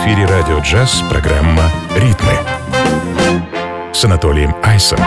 эфире радио «Джаз» программа «Ритмы» с Анатолием Айсом.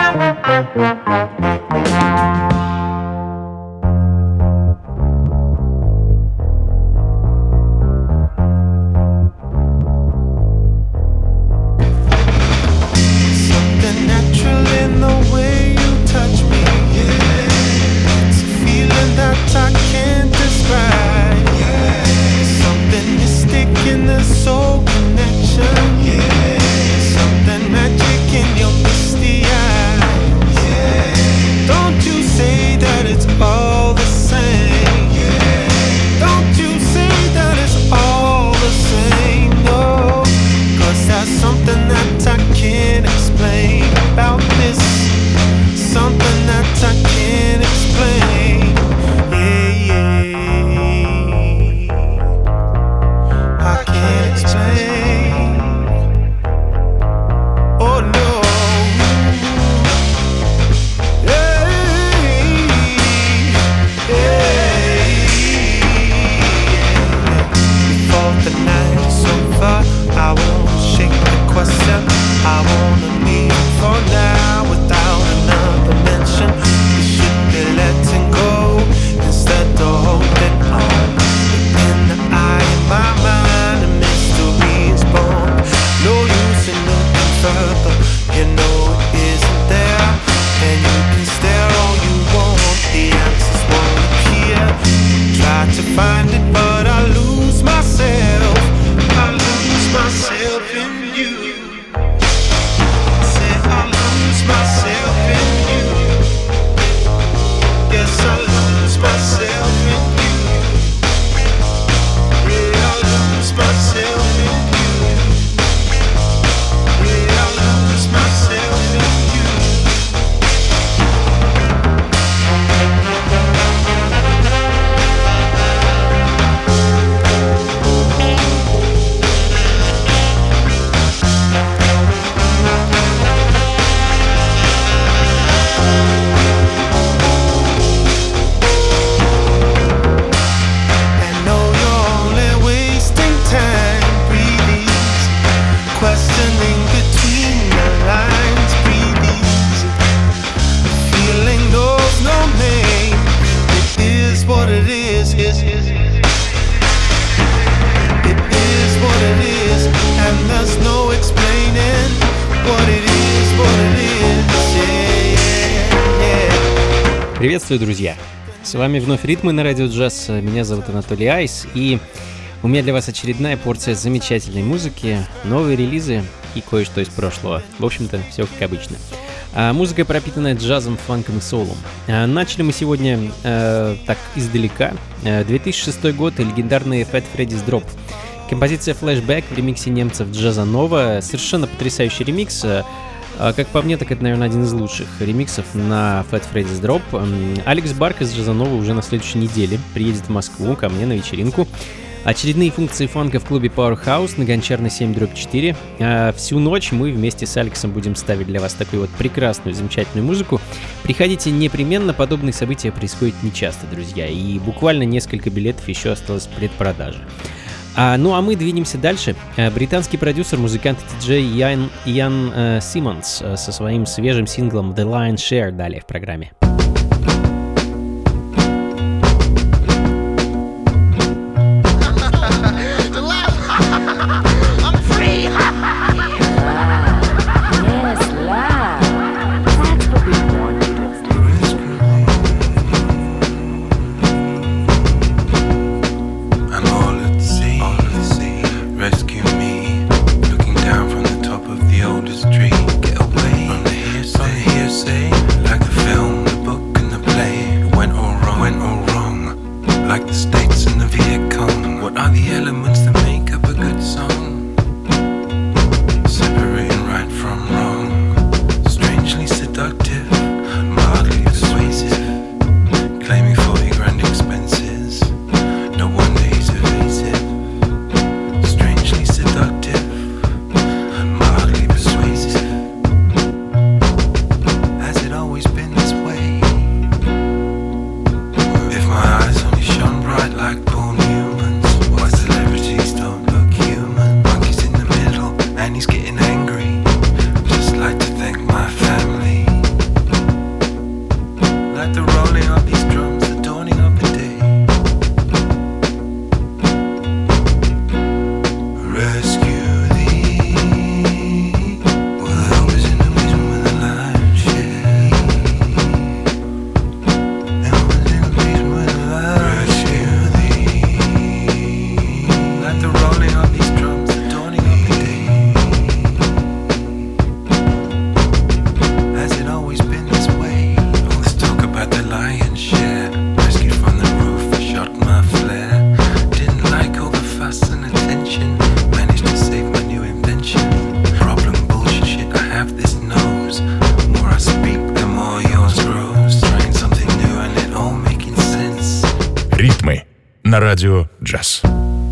Приветствую, друзья! С вами вновь «Ритмы» на радио «Джаз». Меня зовут Анатолий Айс, и у меня для вас очередная порция замечательной музыки, новые релизы и кое-что из прошлого. В общем-то, все как обычно. Музыка, пропитанная джазом, фанком и соулом. Начали мы сегодня так издалека. 2006 год и легендарный Fat Freddy's Drop. Композиция «Flashback» в ремиксе немцев Джаза Нова. Совершенно потрясающий ремикс. Как по мне, так это, наверное, один из лучших ремиксов на Fat Freddy's Drop. Алекс Барк из Джаза Нова уже на следующей неделе приедет в Москву ко мне на вечеринку. Очередные функции фанка в клубе Powerhouse на Гончарной 7/4. Всю ночь мы вместе с Алексом будем ставить для вас такую вот прекрасную, замечательную музыку. Приходите непременно, подобные события происходят нечасто, друзья. И буквально несколько билетов еще осталось в предпродаже. Ну а мы двинемся дальше. Британский продюсер, музыкант и диджей Ян Симмонс со своим свежим синглом The Lion's Share далее в программе. Shone bright like Paul Newman's. Why celebrities don't look human. на радио «Джаз».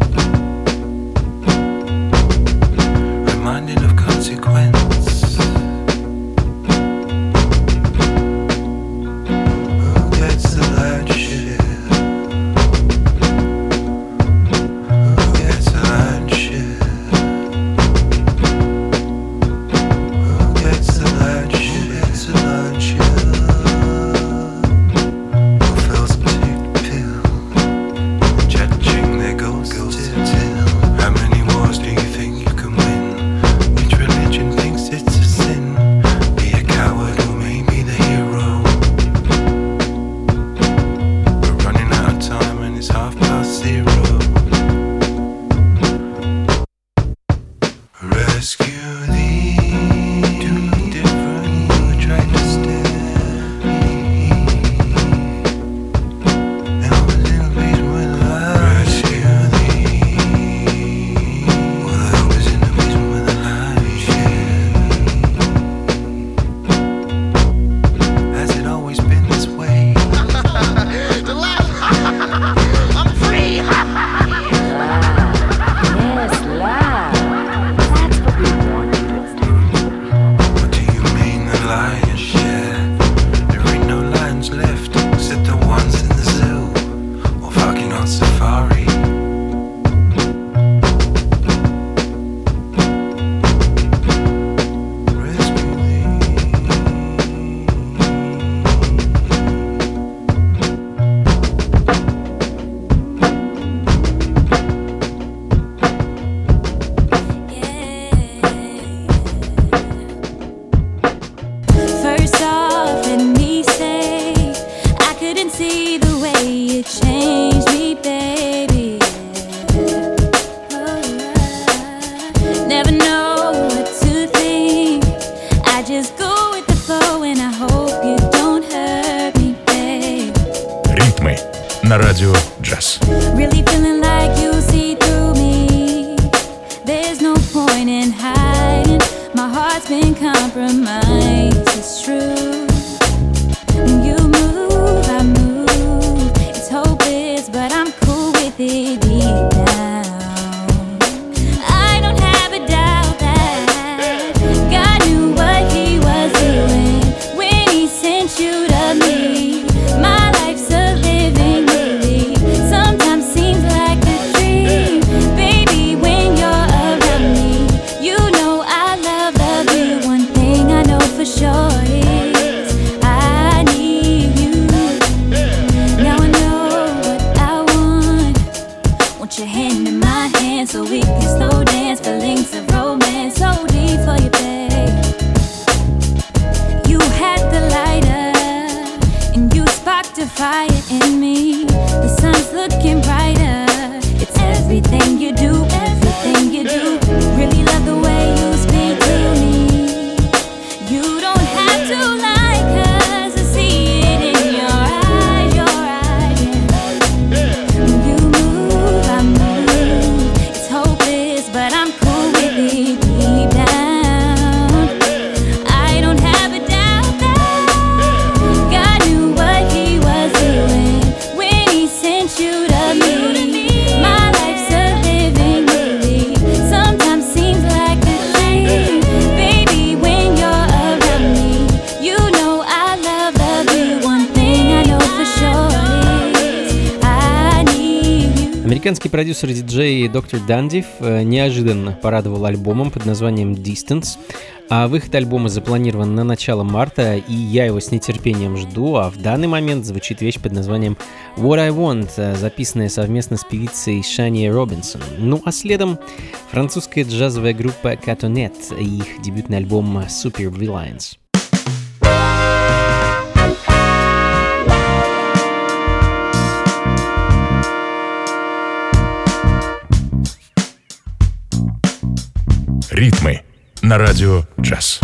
На радио «Джаз». Really feeling like you see through me. There's no point in hiding. My heart's been compromised. It's true. When you move, I move. It's hopeless, but I'm cool with it deep down. I don't have a doubt that God knew what He was doing when He sent you to me. My life's a living movie. Sometimes seems like a dream. Baby, when you're around me, you know I love you. One thing I know for sure is I need you. Now I know what I want. Want your hand in my hand so we can slow dance. Feelings of romance so deep for you, babe. You had the lighter and you sparked a fire in me. The sun's looking brighter. It's everything you do, everything you do. Really love the way you speak to me. You don't have to lie, 'cause I see it in your eyes, yeah. When you move, I move. It's hopeless, but I'm cool with it deep down. I don't have a doubt that God knew what He was doing when He sent you to me. My life's a living movie. Sometimes seems like a dream. Baby, when you're around me, you know I love you. One thing I know for sure is I need you. Американский продюсер и диджей Доктор Дандиф неожиданно порадовал альбомом под названием Distance. А выход альбома запланирован на начало марта, и я его с нетерпением жду, а в данный момент звучит вещь под названием What I Want, записанная совместно с певицей Шани Робинсон. Ну а следом французская джазовая группа Catonet и их дебютный альбом Super Villains. Ритмы на радио «Джаз».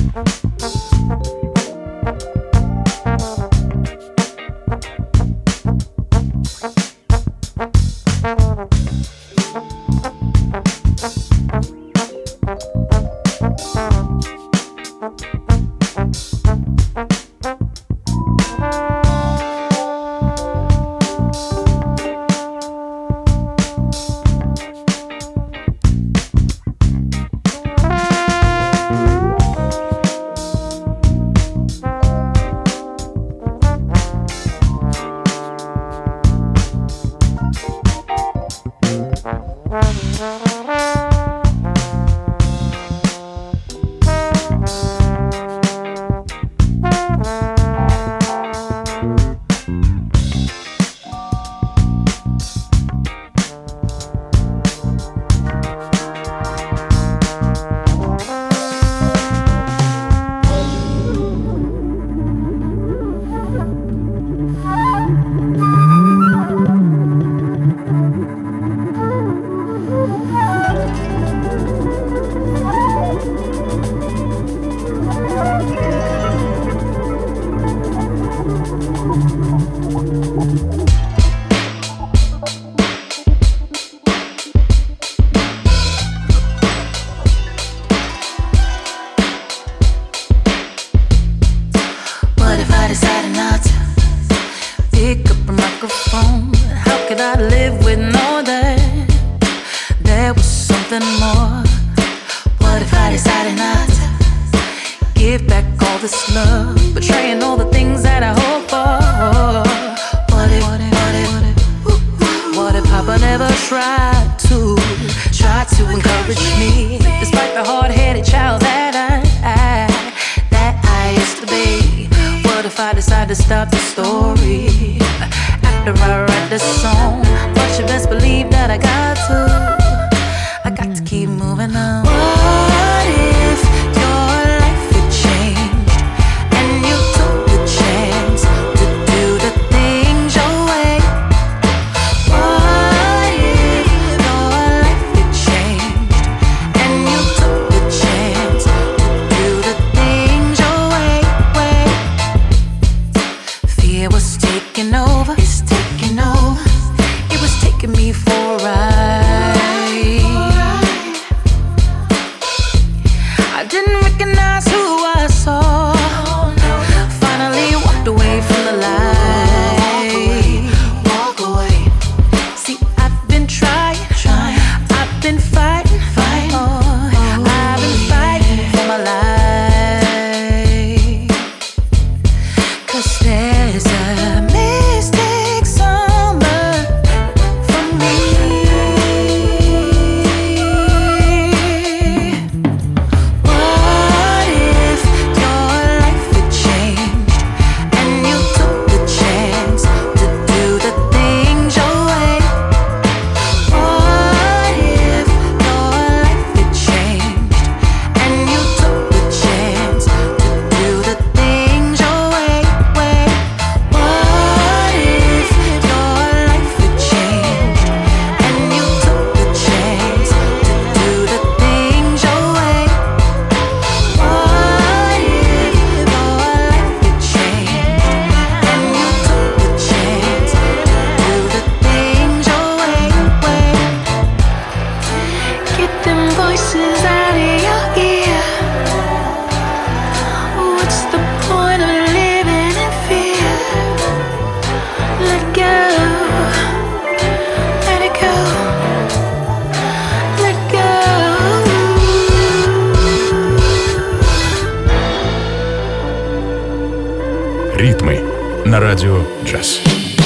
Ритмы на радио «Джаз».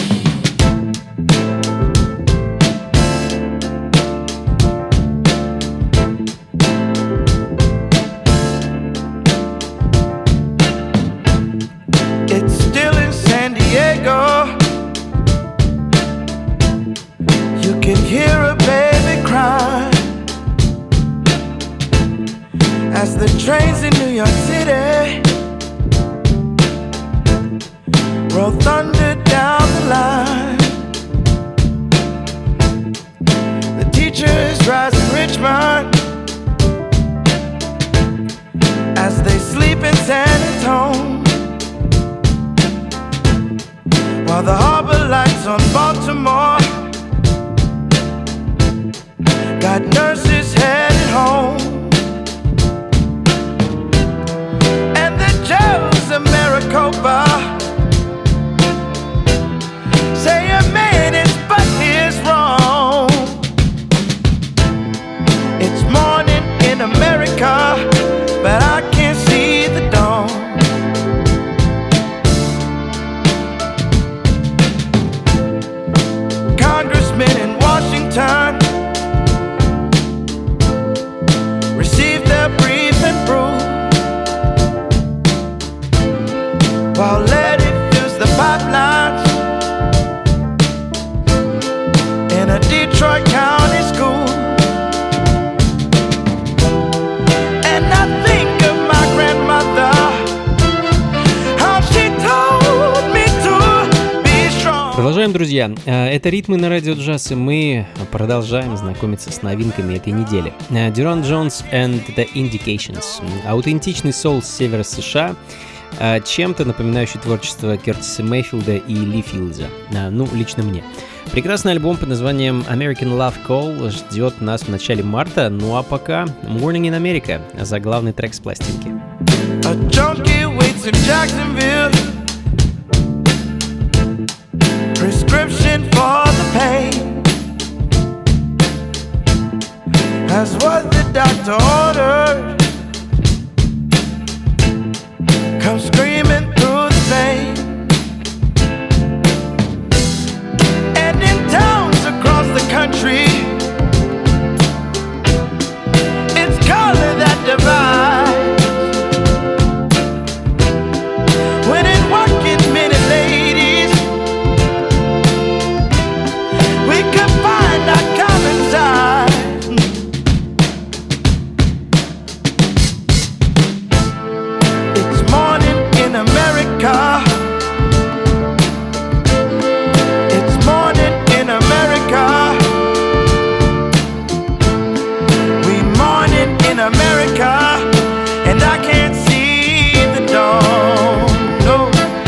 As the trains in New York City roll thunder down the line, the teachers rise in Richmond as they sleep Maricopa. Say a man is but his wrong. It's morning in America, but I can't see the dawn. Congressmen in Washington receive their briefing brew, while Letty fills the pipelines in a Detroit County school. And I think of my grandmother, how she told me to be strong. Продолжаем, друзья. Это «Ритмы на радио джаз», и мы продолжаем знакомиться с новинками этой недели. Дюран Джонс and the Indications. Аутентичный соул с севера США, чем-то напоминающий творчество Кертиса Мейфилда и Ли Филдза. Ну, лично мне. Прекрасный альбом под названием American Love Call ждет нас в начале марта, ну а пока Morning in America, заглавный трек с пластинки. A junkie waits in Jacksonville, prescription for the pain. That's what the doctor ordered. Come screaming through the pain. And in towns across the country, it's color that divides. When in working men and ladies, we can find our common side. It's morning in America. It's morning in America. We morning in America, and I can't see the dawn. No.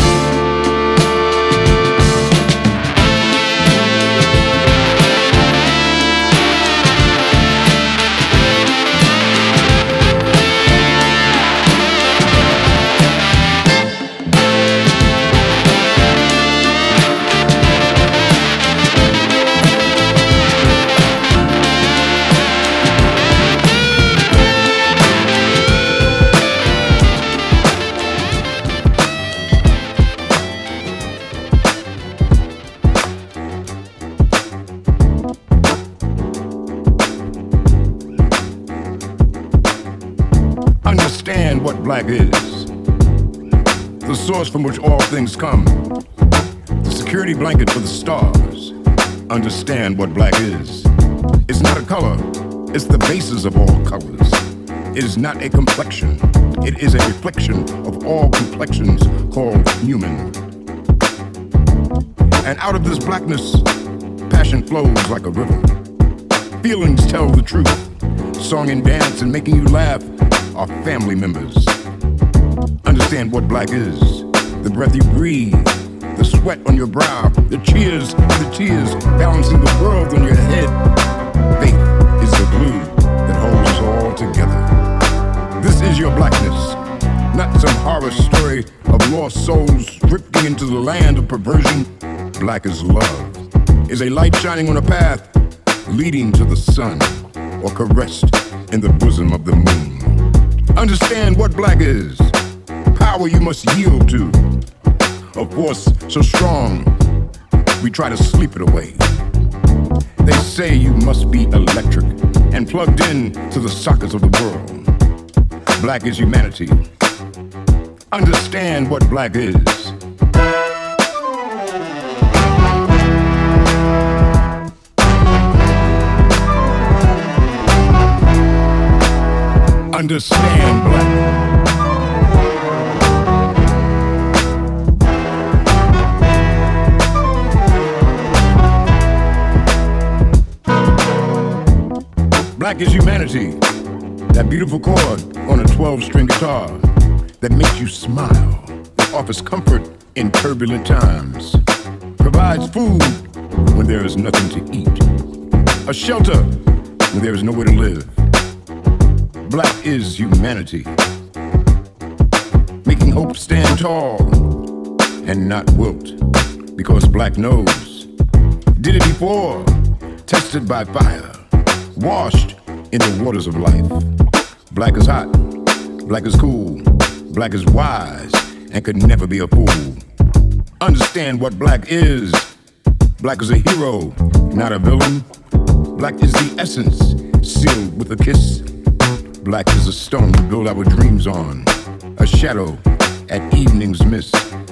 Understand what black is, the source from which all things come, the security blanket for the stars. Understand what black is. It's not a color, it's the basis of all colors. It is not a complexion, it is a reflection of all complexions called human. And out of this blackness, passion flows like a river. Feelings tell the truth. Song and dance and making you laugh are family members. Understand what black is. The breath you breathe, the sweat on your brow, the cheers, the tears balancing the world on your head. Faith is the glue that holds us all together. This is your blackness, not some horror story of lost souls drifting into the land of perversion. Black is love, is a light shining on a path leading to the sun, or caressed in the bosom of the moon. Understand what black is. Power you must yield to. A force so strong, we try to sleep it away. They say you must be electric and plugged in to the sockets of the world. Black is humanity. Understand what black is. Understand black. Black is humanity. That beautiful chord on a 12-string guitar that makes you smile, that offers comfort in turbulent times, provides food when there is nothing to eat, a shelter when there is nowhere to live. Black is humanity, making hope stand tall and not wilt, because black knows. Did it before, tested by fire, washed in the waters of life. Black is hot, black is cool, black is wise, and could never be a fool. Understand what black is. Black is a hero, not a villain. Black is the essence, sealed with a kiss. Black is a stone we build our dreams on, a shadow at evening's mist.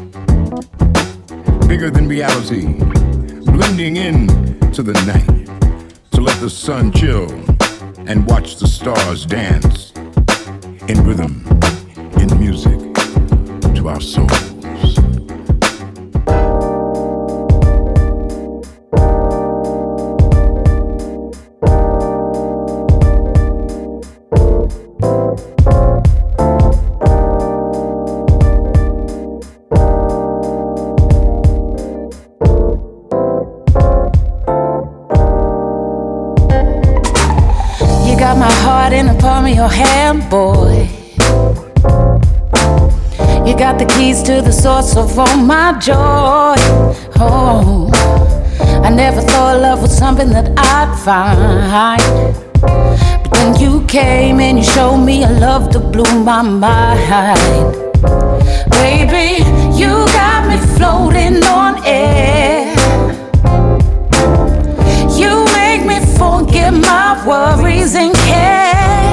Bigger than reality, blending in to the night, to let the sun chill and watch the stars dance in rhythm, in music, to our souls. In the palm of your hand, boy. You got the keys to the source of all my joy. Oh, I never thought love was something that I'd find, but then you came and you showed me a love that blew my mind. Baby, you got me floating on air. You make me forget my worries and cares.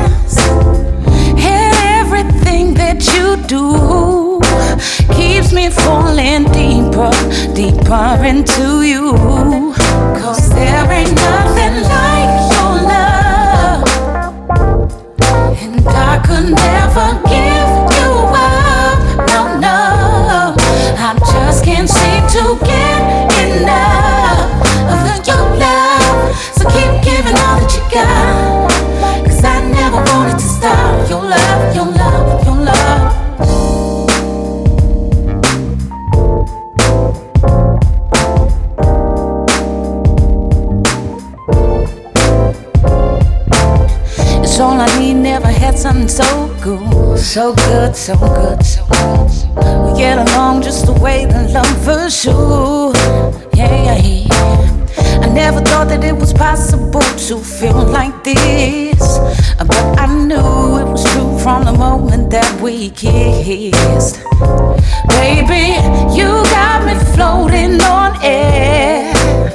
Everything that you do keeps me falling deeper, deeper into you. 'Cause there ain't nothing like your love, and I could never give you up. No, no, I just can't seem to get enough of your love. So keep giving all that you got, 'cause I never wanted to stop. Your love, your love, your love. It's all I need, never had something so good, so good, so good, so good. We get along just the way the lovers should. Yeah, yeah. I never thought that it was possible to feel like this, but I knew it was true from the moment that we kissed. Baby, you got me floating on air.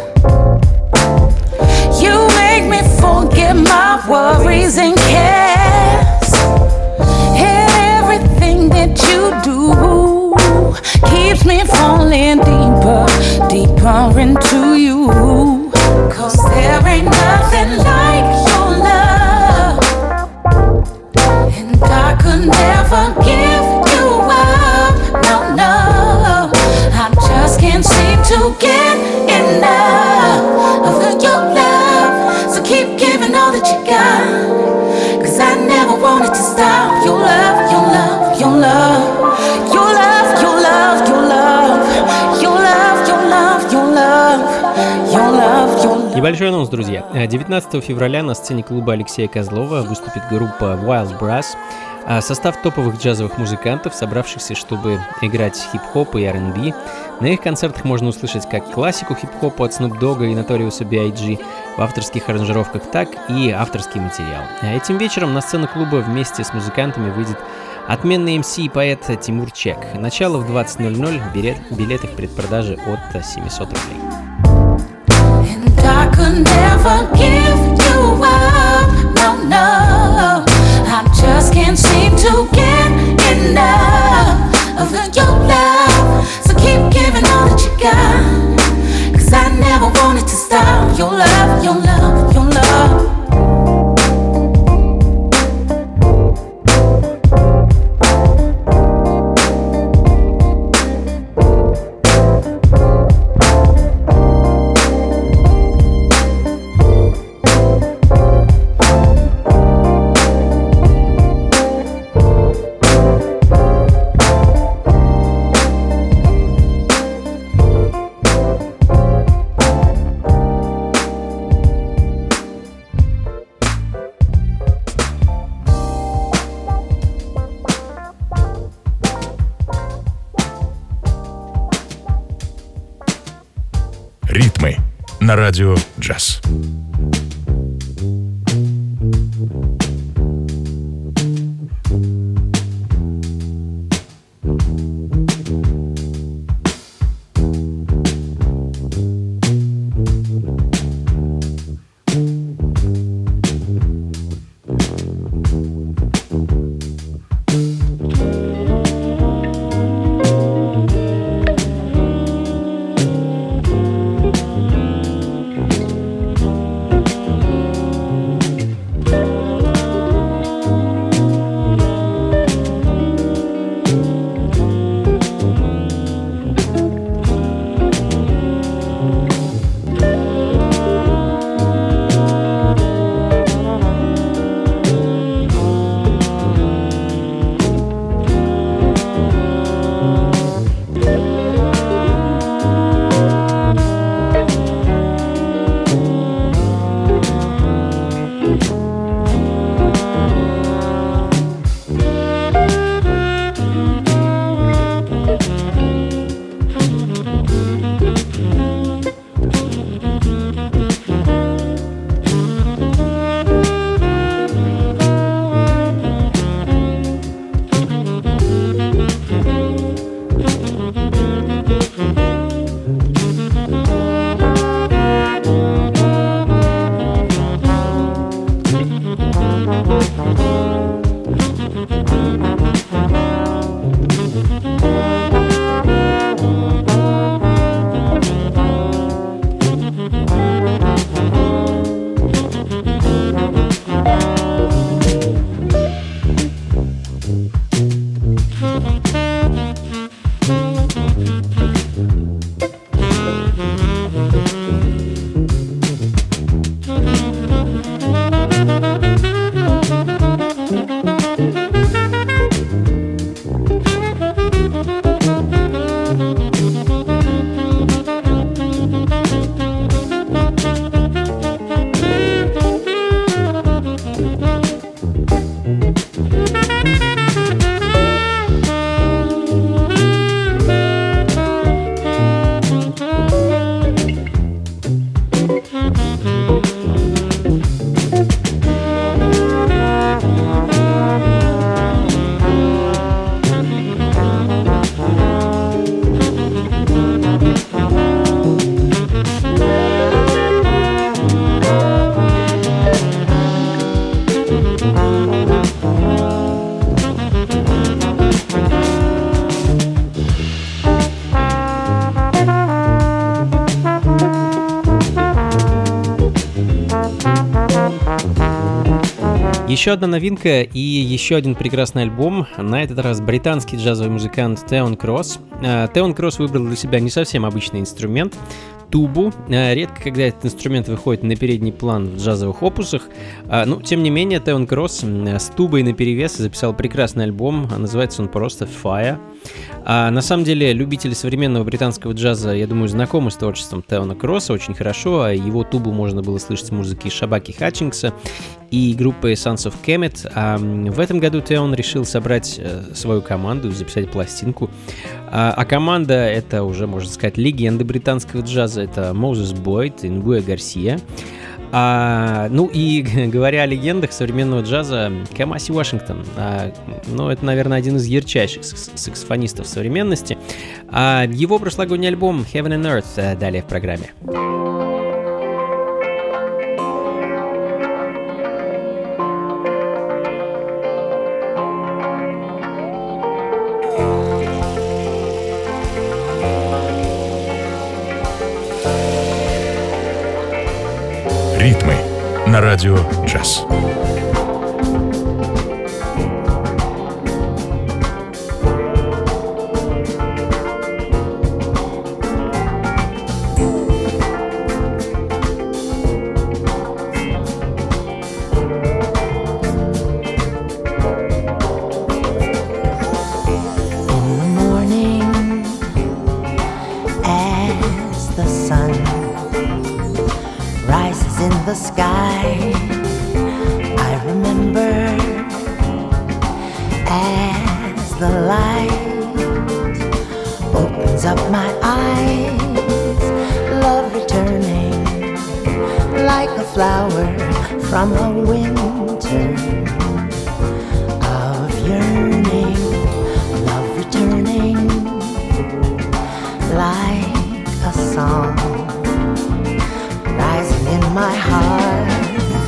You make me forget my worries and cares. Everything that you do keeps me falling deeper, deeper into you. 'Cause there ain't nothing like your love, and I could never give you up. No, no, I just can't seem to get enough of your love. So keep giving all that you got, 'cause I never wanted to stop. Your love, your love, your love, your love, your love, your love, your love, your love, your love, your love, your love. Небольшой анонс, друзья. 19 февраля на сцене клуба Алексея Козлова выступит группа Wild Brass. Состав топовых джазовых музыкантов, собравшихся, чтобы играть хип-хоп и R&B. На их концертах можно услышать как классику хип-хопа от Snoop Dogg и Notorious B.I.G. в авторских аранжировках, так и авторский материал. Этим вечером на сцену клуба вместе с музыкантами выйдет отменный МС и поэт Тимур Чек. Начало в 20:00, билеты в предпродаже от 700 рублей. I could never give you up, no, no, I just can't seem to get enough of your love. So keep giving all that you got, 'cause I never wanted to stop. Your love, your love, your love. на радио «Джаз». Еще одна новинка и еще один прекрасный альбом. На этот раз британский джазовый музыкант Теон Кросс. Теон Кросс выбрал для себя не совсем обычный инструмент — тубу. Редко, когда этот инструмент выходит на передний план в джазовых опусах. Но, тем не менее, Теон Кросс с тубой наперевес записал прекрасный альбом. Называется он просто «Fire». На самом деле, любители современного британского джаза, я думаю, знакомы с творчеством Теона Кросса очень хорошо. Его тубу можно было слышать в музыке Шабаки Хатчингса и группы Sons of Kemet. В этом году Теон решил собрать свою команду и записать пластинку. А команда — это уже, можно сказать, легенды британского джаза. Это Моузес Бойд и Нгуя Гарсия. Ну и говоря о легендах современного джаза, Камаси Вашингтон. Это, наверное, один из ярчайших саксофонистов современности. Его прошлогодний альбом Heaven and Earth далее в программе. Ритмы на радио «Джаз». The sky, I remember as the light opens up my eyes, love returning like a flower from a winter of yearning, love returning like a song rising in my heart.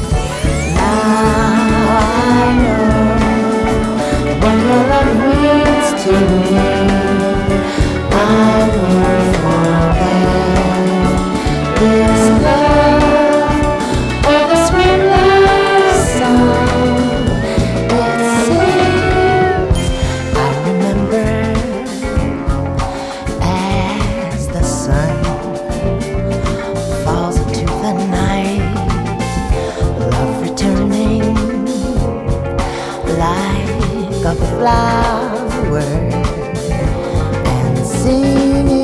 Now I know what your love means to me. I won't forget this love, or the sweet love song it sings. I remember as the sun falls into the night, love returning like a flower and singing.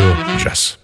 радио «Джаз».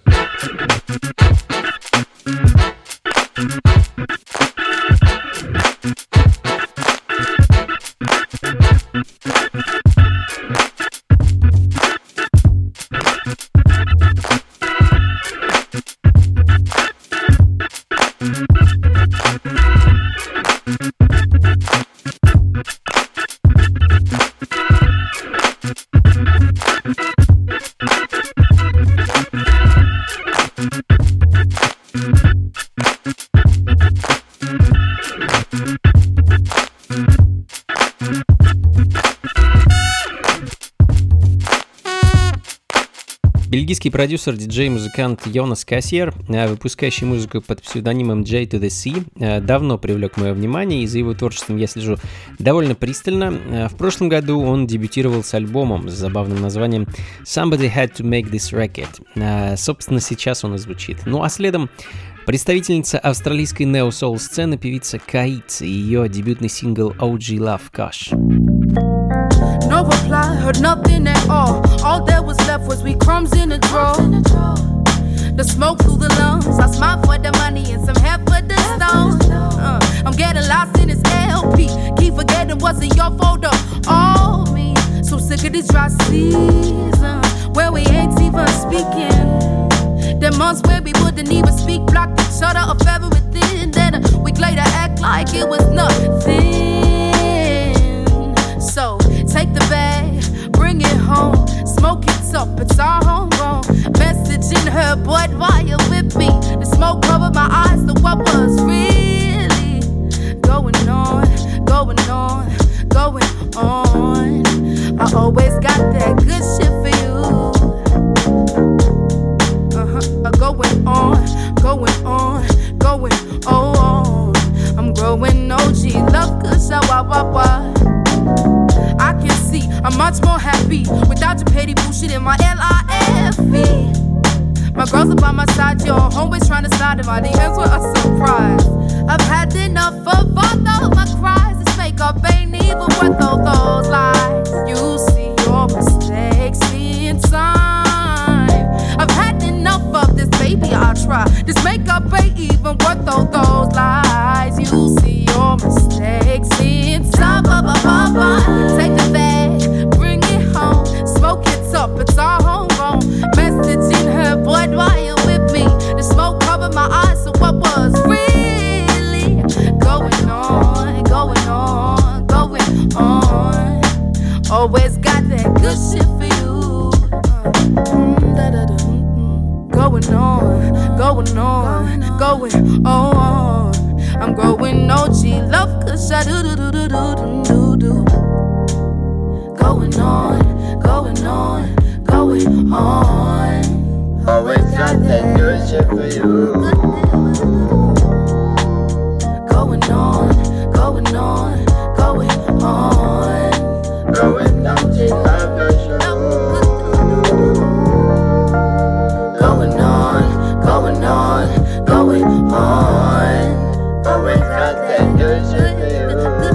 Бельгийский продюсер, диджей и музыкант Йонас Кассиер, выпускающий музыку под псевдонимом J to the C, давно привлек мое внимание, и за его творчеством я слежу довольно пристально. В прошлом году он дебютировал с альбомом с забавным названием Somebody Had to Make This Record. Собственно, сейчас он и звучит. Ну а следом представительница австралийской нео-соул сцены, певица Каит, и ее дебютный сингл OG Love Kush. No reply, heard nothing at all. All that was left was we crumbs in a drawer. The smoke through the lungs. I smile for the money and some half for the stone. I'm getting lost in this LP. Keep forgetting what's in your folder. All me. So sick of this dry season where we ain't even speaking. The months where we wouldn't even speak, blocked each other of everything. Then a week later act like it was nothing. So take the bag, bring it home, smoke it up, it's all homegrown. Message in her, boy, while you're with me. The smoke covered my eyes to what was really going on, going on, going on. I always got that good shit for you. Going on, going on, going on. I'm growing OG, love good, so wah. I can see I'm much more happy without your petty bullshit in my LIFE. My girls are by my side, yo, always trying to slide in my DMs with a surprise. I've had enough of all of my cries. This makeup ain't even worth all those lies. You see your mistakes in time. I've had enough of this, baby, I'll try. This makeup ain't even worth all those lies. You see your mistakes in time. Take the bag, bring it home, smoke it up, it's all homegrown. Message in her, boy, why you with me? The smoke covered my eyes, so what was really going on, going on, going on? Always got that good shit for you. Going on, going on, going on. I'm growing OG love, cause I do. Going on, going on, going on. Always got that good shit for you. Going on, going on, going on. Growing OG love for you. Going on, going on, going on. Always got that good shit for you.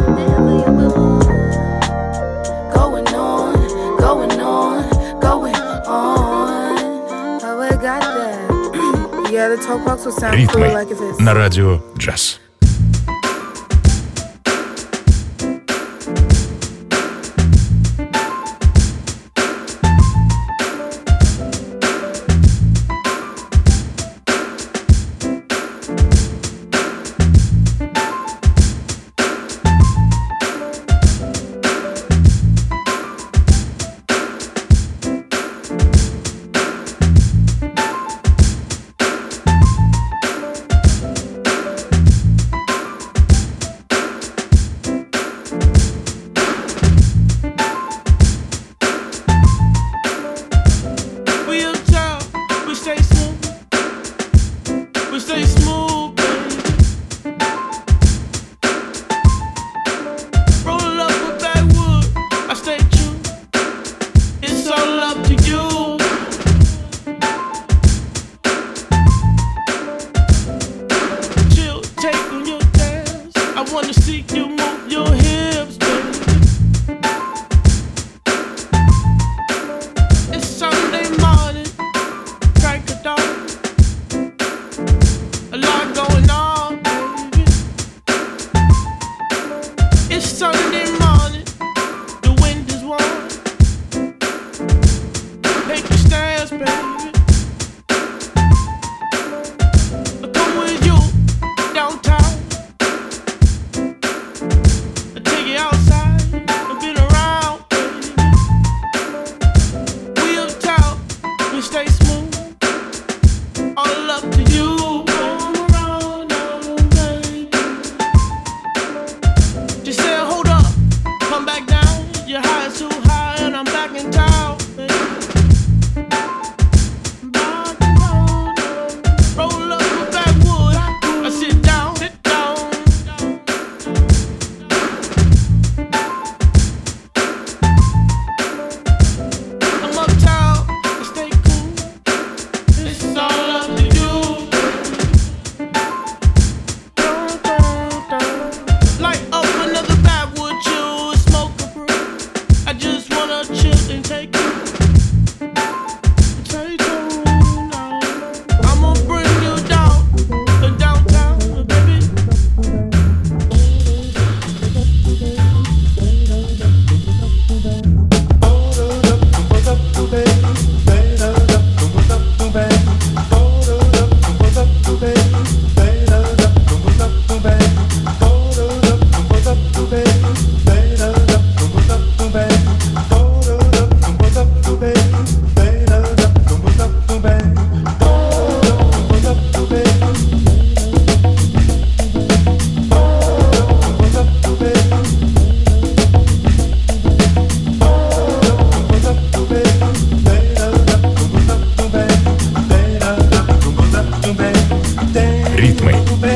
Going on, going on, going on. Always got that. Yeah, the talk box will sound cool Ритмы like if it's на радио «Джаз».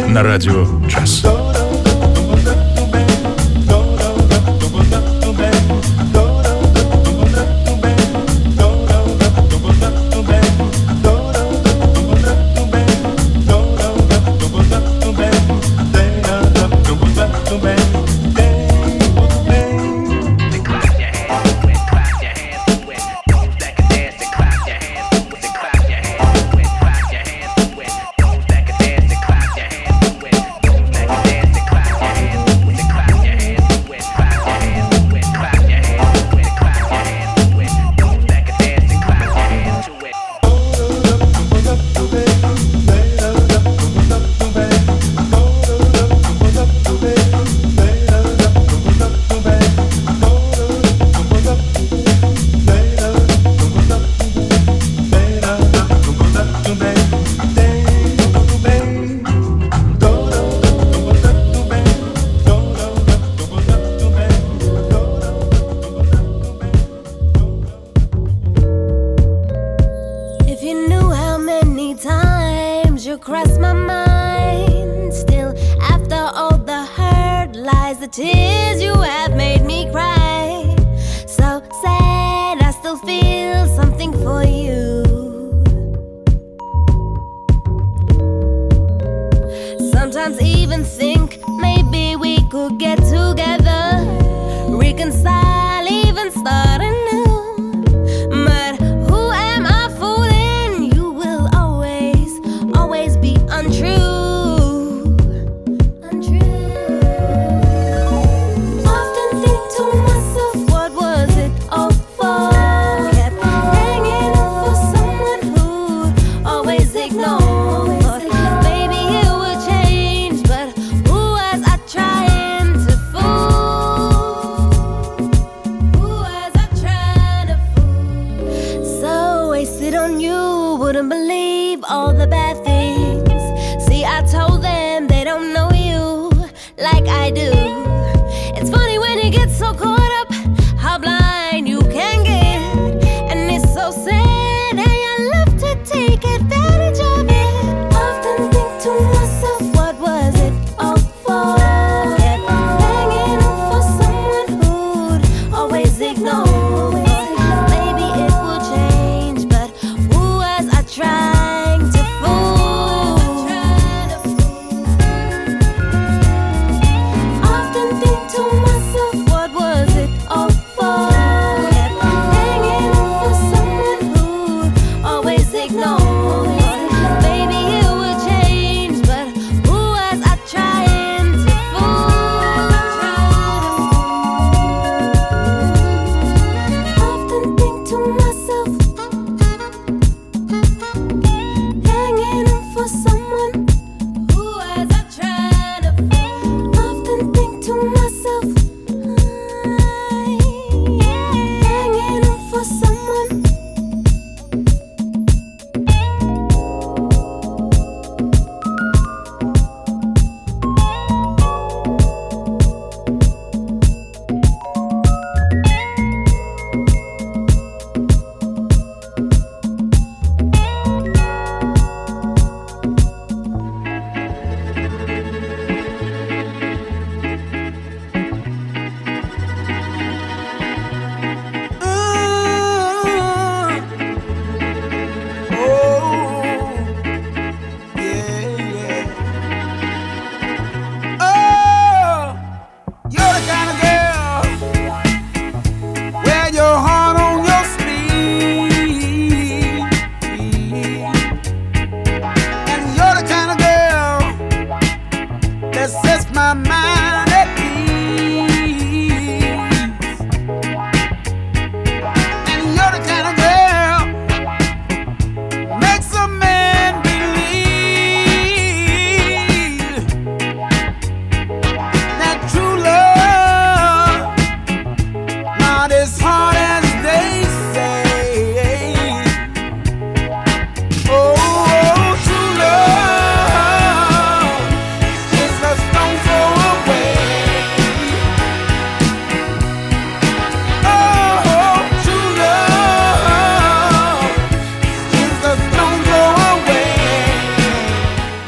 на радио «Джаз».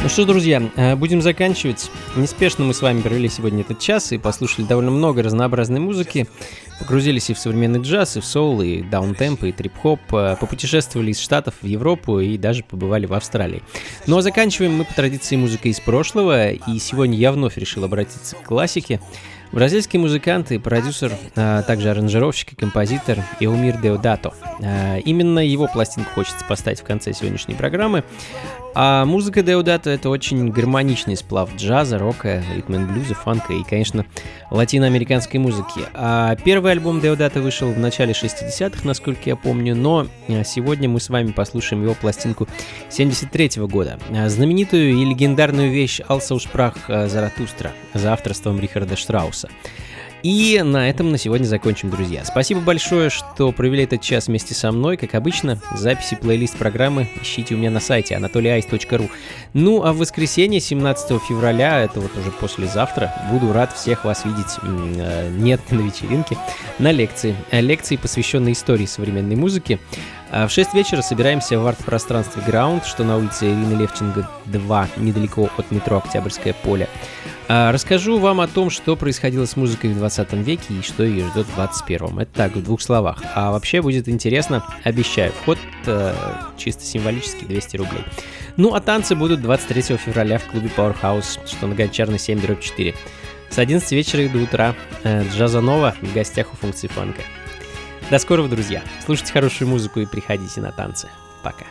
что, друзья, будем заканчивать. Неспешно мы с вами провели сегодня этот час и послушали довольно много разнообразной музыки. Погрузились и в современный джаз, и в соул, и даунтемп, и трип-хоп. Попутешествовали из Штатов в Европу и даже побывали в Австралии. Ну а заканчиваем мы по традиции музыкой из прошлого. И сегодня я вновь решил обратиться к классике. Бразильский музыкант и продюсер, также аранжировщик и композитор Эумир Деодато. Именно его пластинку хочется поставить в конце сегодняшней программы. А музыка Деодато — это очень гармоничный сплав джаза, рока, ритм-н-блюза, фанка и, конечно, латиноамериканской музыки. А первый альбом Деодато вышел в начале 60-х, насколько я помню, но сегодня мы с вами послушаем его пластинку 73-го года. Знаменитую и легендарную вещь «Also sprach Zarathustra» за авторством Рихарда Штрауса. И на этом на сегодня закончим, друзья. Спасибо большое, что провели этот час вместе со мной. Как обычно, записи, плейлист программы ищите у меня на сайте anatolyice.ru. Ну, а в воскресенье, 17 февраля, это вот уже послезавтра, буду рад всех вас видеть, нет, на вечеринке, на лекции. Лекции, посвященные истории современной музыки. В 6 вечера собираемся в арт-пространстве Ground, что на улице Ирины Левченко, 2, недалеко от метро Октябрьское поле. Расскажу вам о том, что происходило с музыкой в 20 веке и что ее ждет в 21-м. Это так, в 2 словах. А вообще будет интересно, обещаю. Вход чисто символический, 200 рублей. Ну, а танцы будут 23 февраля в клубе Powerhouse, что на Гончарной 7/4. С 11 вечера и до утра. Джазанова в гостях у функции фанка. До скорого, друзья. Слушайте хорошую музыку и приходите на танцы. Пока.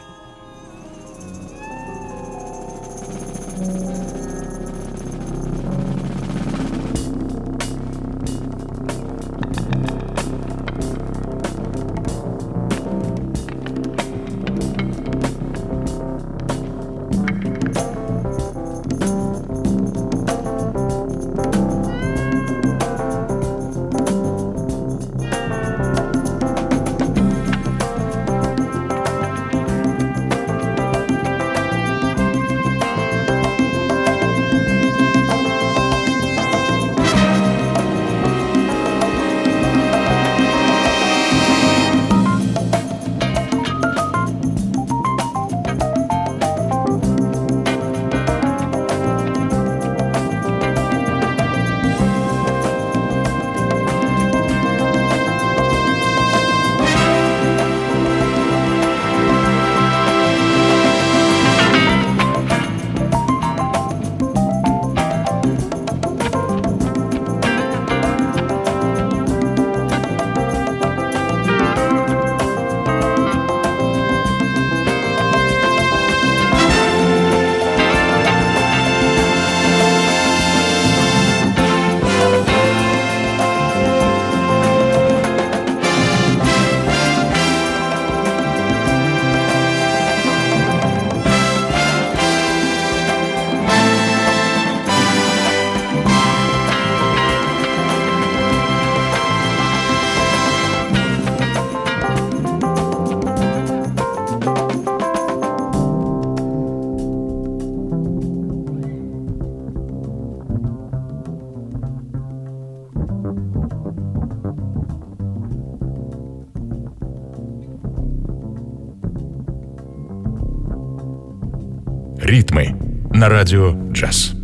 Ритмы на радио «Джаз».